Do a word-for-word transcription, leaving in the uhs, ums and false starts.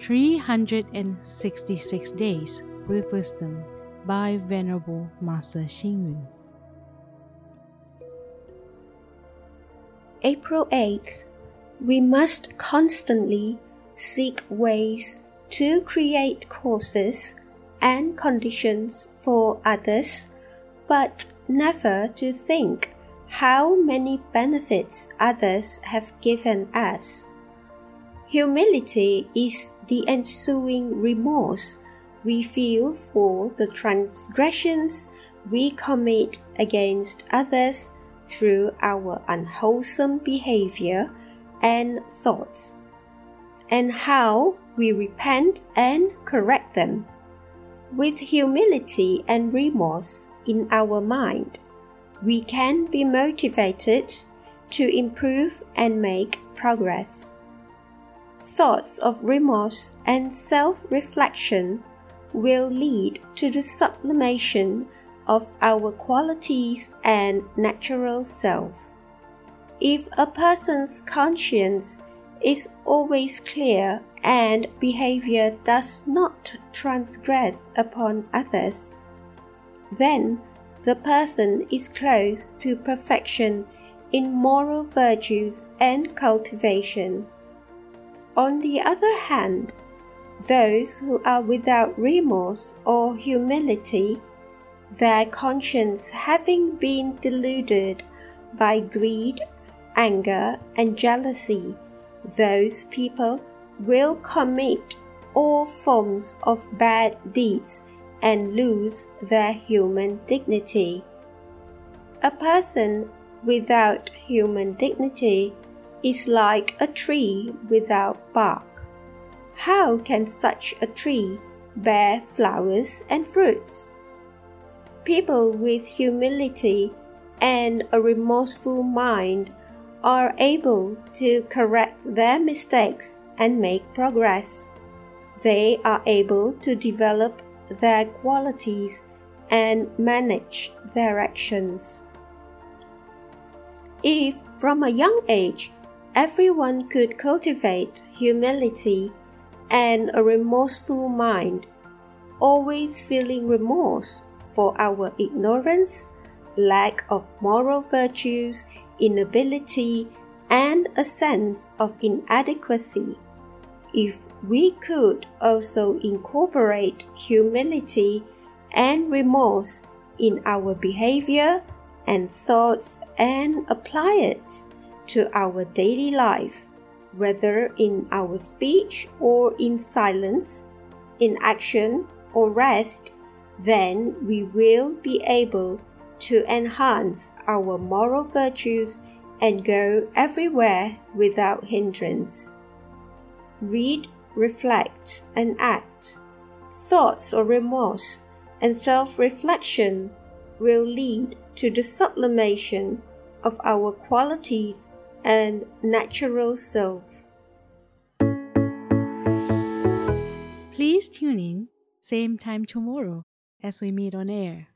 three hundred sixty-six Days with Wisdom by Venerable Master Xing Yun. April eighth. We must constantly seek ways to create causes and conditions for others, but never to think how many benefits others have given us. Humility is the ensuing remorse we feel for the transgressions we commit against others through our unwholesome behavior and thoughts, and how we repent and correct them. With humility and remorse in our mind, we can be motivated to improve and make progress. Thoughts of remorse and self-reflection will lead to the sublimation of our qualities and natural self. If a person's conscience is always clear and behavior does not transgress upon others, then the person is close to perfection in moral virtues and cultivation. On the other hand, those who are without remorse or humility, their conscience having been deluded by greed, anger, and jealousy, those people will commit all forms of bad deeds and lose their human dignity. A person without human dignity is like a tree without bark. How can such a tree bear flowers and fruits? People with humility and a remorseful mind are able to correct their mistakes and make progress. They are able to develop their qualities and manage their actions. If from a young age everyone could cultivate humility and a remorseful mind, always feeling remorse for our ignorance, lack of moral virtues, inability, and a sense of inadequacy, if we could also incorporate humility and remorse in our behavior and thoughts and apply it to our daily life, whether in our speech or in silence, in action or rest, then we will be able to enhance our moral virtues and go everywhere without hindrance. Read, reflect, and act. Thoughts of remorse and self-reflection will lead to the sublimation of our qualities and natural self. Please tune in, same time tomorrow as we meet on air.